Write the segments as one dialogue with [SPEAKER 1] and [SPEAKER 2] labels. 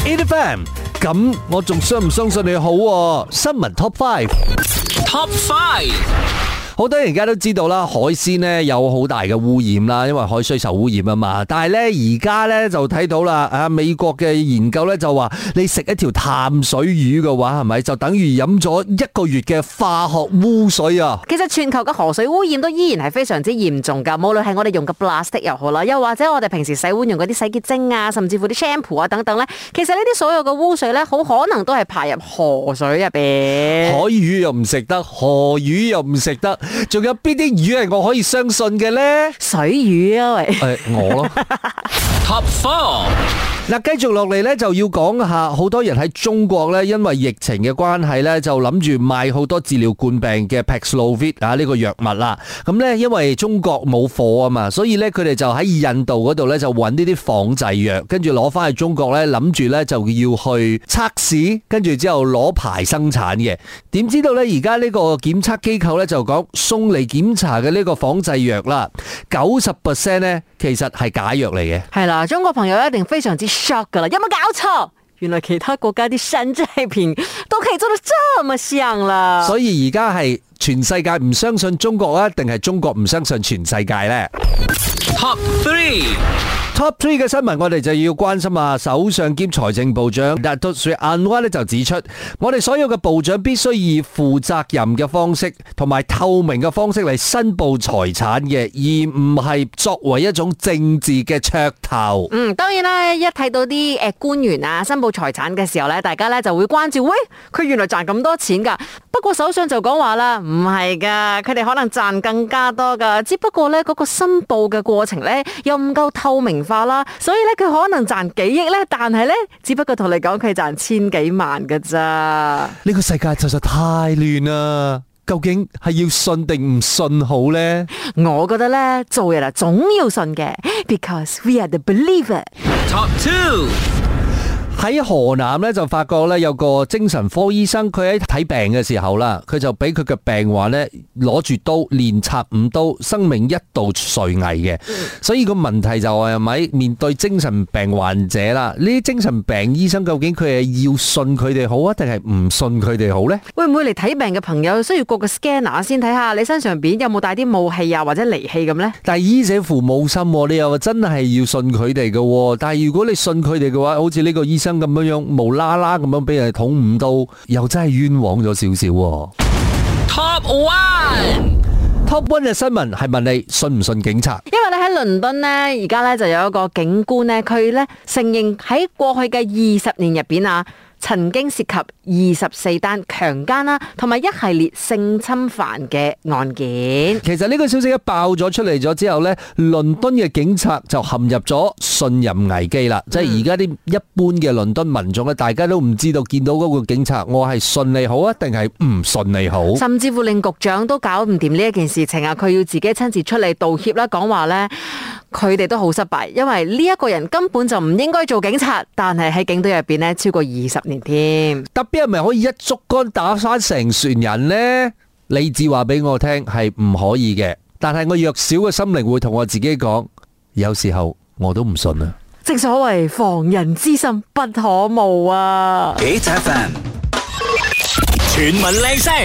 [SPEAKER 1] 8FM， 咁我仲相唔相信你好喎？新聞 Top 5。Top 5。好多人而家都知道啦，海鮮呢有好大嘅污染啦，因為海水受污染啊嘛。但係呢，而家呢就睇到啦，美國嘅研究呢就話，你食一條淡水魚嘅話，係咪就等於飲咗1個月嘅化學污水啊？
[SPEAKER 2] 其實全球嘅河水污染都依然係非常之嚴重噶，無論係我哋用嘅 plastic 又好啦，又或者我哋平時洗碗用嗰啲洗潔精啊，甚至乎啲 shampoo 啊等等呢，其實呢啲所有嘅污水呢，好可能都係排入河水入邊。
[SPEAKER 1] 海魚又唔食得，河魚又唔食得。仲有邊啲魚係我可以相信嘅呢？
[SPEAKER 2] 水魚啊，喂！
[SPEAKER 1] 我咯。Top 4。嗱，繼續落嚟咧，就要講下好多人喺中國咧，因為疫情嘅關係咧，就諗住買好多治療冠病嘅 Paxlovid 啊呢個藥物啦。咁咧，因為中國冇貨啊嘛，所以咧佢哋就喺印度嗰度咧就揾呢啲仿製藥，跟住攞翻去中國咧，諗住咧就要去測試，跟住之後攞牌生產嘅。點知道咧，而家呢個檢測機構咧就講送嚟檢查嘅呢個仿製藥啦，90% 咧其實係假藥嚟嘅。
[SPEAKER 2] 係啦，中國朋友一定非常之 shock 噶啦，有冇搞錯？原來其他國家啲山寨品都可以做得這麼像啦。
[SPEAKER 1] 所以而家係全世界唔相信中國啊，定係中國唔相信全世界呢？ Top 3嘅新聞，我哋就要關心下首相兼財政部長 Datuk Seri Anwar 咧就指出，我哋所有嘅部長必須以負責任嘅方式同埋透明嘅方式嚟申報財產嘅，而唔係作為一種政治嘅噱頭。
[SPEAKER 2] 當然啦，一睇到啲官員啊申報財產嘅時候咧，大家咧就會關注，喂，佢原來賺咁多錢噶。不過首相就講話啦，唔係噶，佢哋可能賺更加多噶，只不過咧嗰個申報嘅過程咧又唔夠透明化啦，所以咧佢可能賺幾億咧，但係咧只不過同你講佢賺千幾萬噶咋。
[SPEAKER 1] 呢個世界實在太亂啦，究竟係要信定唔信好呢？
[SPEAKER 2] 我覺得咧做人啊總要信嘅 ，because we are the believer。
[SPEAKER 1] Top 2。喺河南咧就發覺咧有個精神科醫生，佢喺睇病嘅時候啦，佢就俾佢嘅病患咧攞住刀連插5刀，生命一度垂危嘅。所以個問題就係咪面對精神病患者啦？呢啲精神病醫生究竟佢係要信佢哋好啊，定係唔信佢哋好呢？
[SPEAKER 2] 會唔會嚟睇病嘅朋友需要過個 scanner 先睇下你身上邊有冇帶啲武器啊或者利器咁呢？
[SPEAKER 1] 但係醫者父母心，你又真係要信佢哋嘅。但係如果你信佢哋嘅話，好似呢個醫生咁樣無啦啦咁樣俾人捅5刀，又真係冤枉咗少少。Top 1嘅新聞係問你信唔信警察？
[SPEAKER 2] 因為咧喺倫敦呢，而家咧就有一個警官呢，佢咧承認喺過去嘅20年入邊啊，曾經涉及24單強姦啦，同埋一系列性侵犯嘅案件。
[SPEAKER 1] 其實呢個消息一爆咗出嚟咗之後呢，倫敦嘅警察就陷入咗信任危機啦。即係而家啲一般嘅倫敦民眾咧，大家都唔知道見到嗰個警察，我係信你好啊，定係唔信你好？
[SPEAKER 2] 甚至乎令局長都搞唔掂呢一件事情啊！佢要自己親自出嚟道歉啦，講話呢，佢哋都好失敗，因為呢一個人根本就唔應該做警察，但係喺警隊入邊呢，超過20年添。
[SPEAKER 1] 特別係咪可以一竹竿打翻成船人呢？理智話俾我聽係唔可以嘅，但係我弱小嘅心靈會同我自己講，有時候我都唔信啊。
[SPEAKER 2] 正所謂防人之心不可無啊。
[SPEAKER 3] 8FM 全民靚聲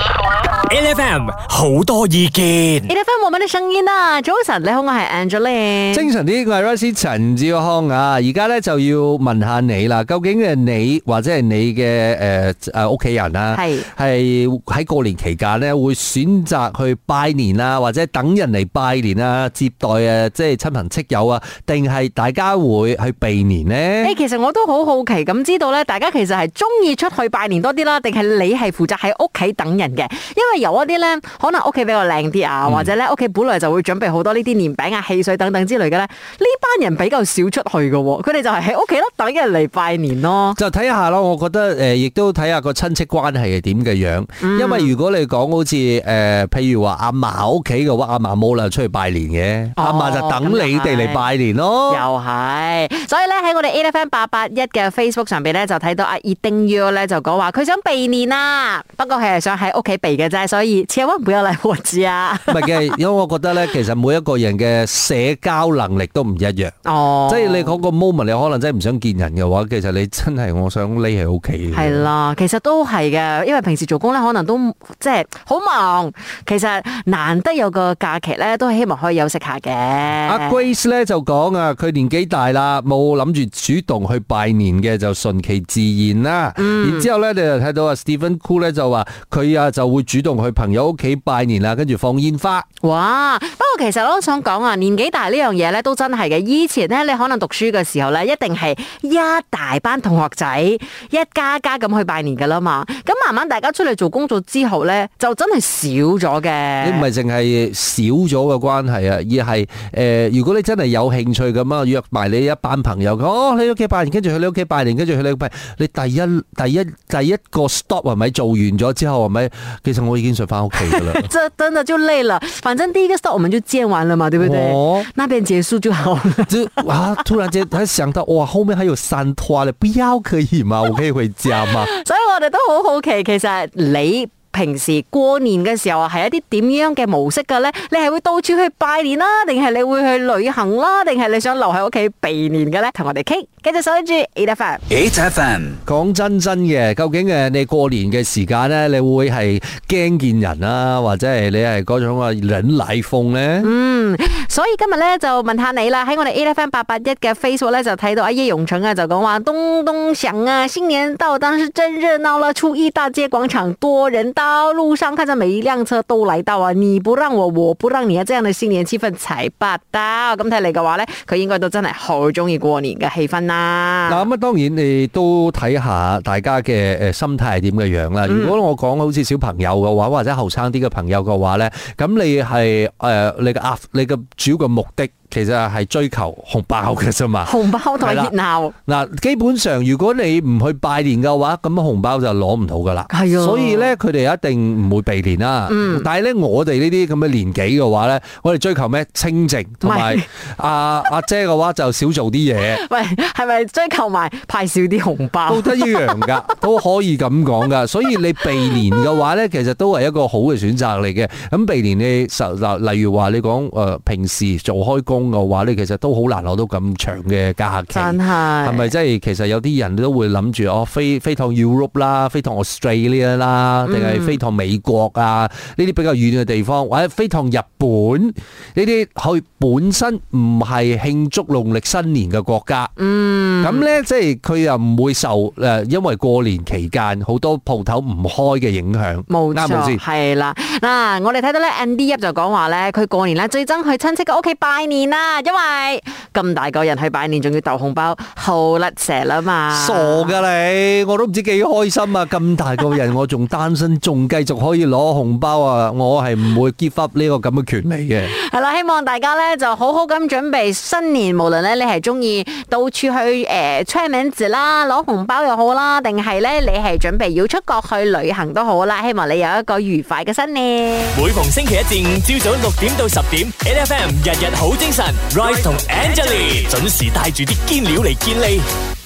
[SPEAKER 3] ，8FM 好多意見
[SPEAKER 2] ，8FM 我們的聲音啊！早晨，你好，我係 Angeline。
[SPEAKER 1] 精神啲，我係 Rosie 陳志康啊！而家咧就要問下你啦，究竟你或者係你嘅屋企人啊，係喺過年期間咧會選擇去拜年啊，或者等人嚟拜年啊，接待即係親朋戚友啊，定係大家會去避年呢？
[SPEAKER 2] 其實我都好好奇咁知道咧，大家其實係中意出去拜年多啲啦，定係你係負責喺屋企等人嘅？因為有一啲咧，可能屋企比較靚啲啊，或者咧屋企本來就會準備好多呢啲年餅啊、汽水等等之類嘅咧，呢班人比較少出去嘅，佢哋就係喺屋企咯，等人嚟拜年咯。就
[SPEAKER 1] 睇下咯，我覺得亦都睇下個親戚關係係點嘅樣。因為如果你講好似譬如話阿嫲屋企嘅話，阿嫲冇啦出去拜年嘅，阿嫲就等你哋嚟拜年咯。
[SPEAKER 2] 又係，所以咧喺我哋 8FM 881嘅 Facebook 上邊咧就睇到阿葉丁 U 咧就講話佢想避年啊，不過佢係想喺屋企避嘅啫，所以千萬不要嚟我家。
[SPEAKER 1] 唔係嘅， 因為我覺得咧，其實每一個人嘅社交能力都唔一樣。
[SPEAKER 2] 哦，
[SPEAKER 1] 即係你嗰個 moment，你可能真係唔想見人嘅話，其實你真係我想匿喺屋企。
[SPEAKER 2] 係啦，其實都係嘅，因為平時做工咧，可能都即係好忙。其實難得有個假期咧，都係希望可以休息下嘅。
[SPEAKER 1] 阿 Grace 咧就講啊，佢年紀大啦，冇諗住主動去拜年嘅，就順其自然啦。然之後咧，你就睇到阿 Stephen Cool 咧就話佢啊就會主動去朋友屋企拜年啦，跟住放煙花。
[SPEAKER 2] 哇！不過其實我都想講啊，年紀大呢樣嘢咧都真係嘅。以前咧，你可能讀書嘅時候咧，一定係一大班同學仔一家家咁去拜年噶啦嘛。咁慢慢大家出嚟做工作之後咧，就真係少咗嘅。
[SPEAKER 1] 你唔係淨係少咗嘅關係啊，而係如果你真係有興趣咁啊，約埋你一班朋友，你屋企拜年，跟住去你屋企拜年，跟住去你屋企拜年，你第一個 stop 係咪做完咗之後係咪？其實我已經想翻屋企噶啦。
[SPEAKER 2] 這真的就累了，反正第一個 stop 我們就見完了嘛，對不對？那邊結束就好了。
[SPEAKER 1] 突然間他想到，哇，後面還有3拖咧，不要可以嗎？我可以回家嗎？
[SPEAKER 2] 所以我哋都好好奇，其實你平時過年嘅時候係一啲點樣嘅模式嘅咧？你係會到處去拜年啦，定係你會去旅行啦，定係你想留喺屋企避年嘅咧？同我哋傾，繼續守住 8FM。講真嘅，究竟你過年嘅時間咧，你會係驚見人啊，或者係你係嗰種啊忍奶風咧？所以今日咧就問下你啦，喺我哋 8FM881嘅 Facebook 咧就睇到阿葉永成啊，就講話東東響啊，新年到，當時真熱鬧啦，初一大街廣場多人到，路上看着每一輛車都來到啊，你不讓我，我不讓你啊，這樣的新年氣氛才霸道。咁睇嚟嘅話咧，佢應該都真係好中意過年嘅氣氛啦。嗱咁啊，當然你都睇下大家嘅心態係點嘅樣啦。如果我講好似小朋友嘅話，或者後生啲嘅朋友嘅話咧，咁你係你嘅主要嘅目的，其實係追求紅包嘅啫嘛，紅包同埋熱鬧。嗱，基本上如果你唔去拜年嘅話，咁紅包就攞唔到噶啦。係啊，所以咧佢哋一定唔會避年啦。但係咧我哋呢啲咁嘅年紀嘅話咧，我哋追求咩？清靜，同埋阿姐嘅話就少做啲嘢。喂，係咪追求埋派少啲紅包？都得一樣噶，都可以咁講噶。所以你避年嘅話咧，其實都係一個好嘅選擇嚟嘅。咁避年你例如話你講平時做開工嘅話，你其實都好難攞到咁長嘅假期，真係咪？即係其實有啲人都會諗住飛趟 Europe 啦，飛趟 Australia 啦，定係飛趟美國啊？呢啲比較遠嘅地方，或者飛趟日本呢啲，佢本身唔係慶祝農曆新年嘅國家。咁咧即係佢又唔會受因為過年期間好多鋪頭唔開嘅影響。冇錯，係啦。嗱，我哋睇到咧 Andy 就講話咧，佢過年咧最憎去親戚嘅屋企拜年啦，因為咁大個人去拜年，仲要鬥紅包，好甩蛇啦嘛！傻噶你，我都唔知幾開心啊！咁大個人，我仲單身，仲繼續可以攞紅包啊！我係唔會 give up 呢個咁嘅權利嘅。係啦，希望大家咧就好好咁準備新年，無論咧你係中意到處去吹名字啦，攞紅包又好啦，定係咧你係準備要出國去旅行都好啦，希望你有一個愉快嘅新年。每逢星期一至五朝早6點到10點 ，8FM 日日好精神 ，Rise 同 Angelie 準時帶住啲堅料嚟見你。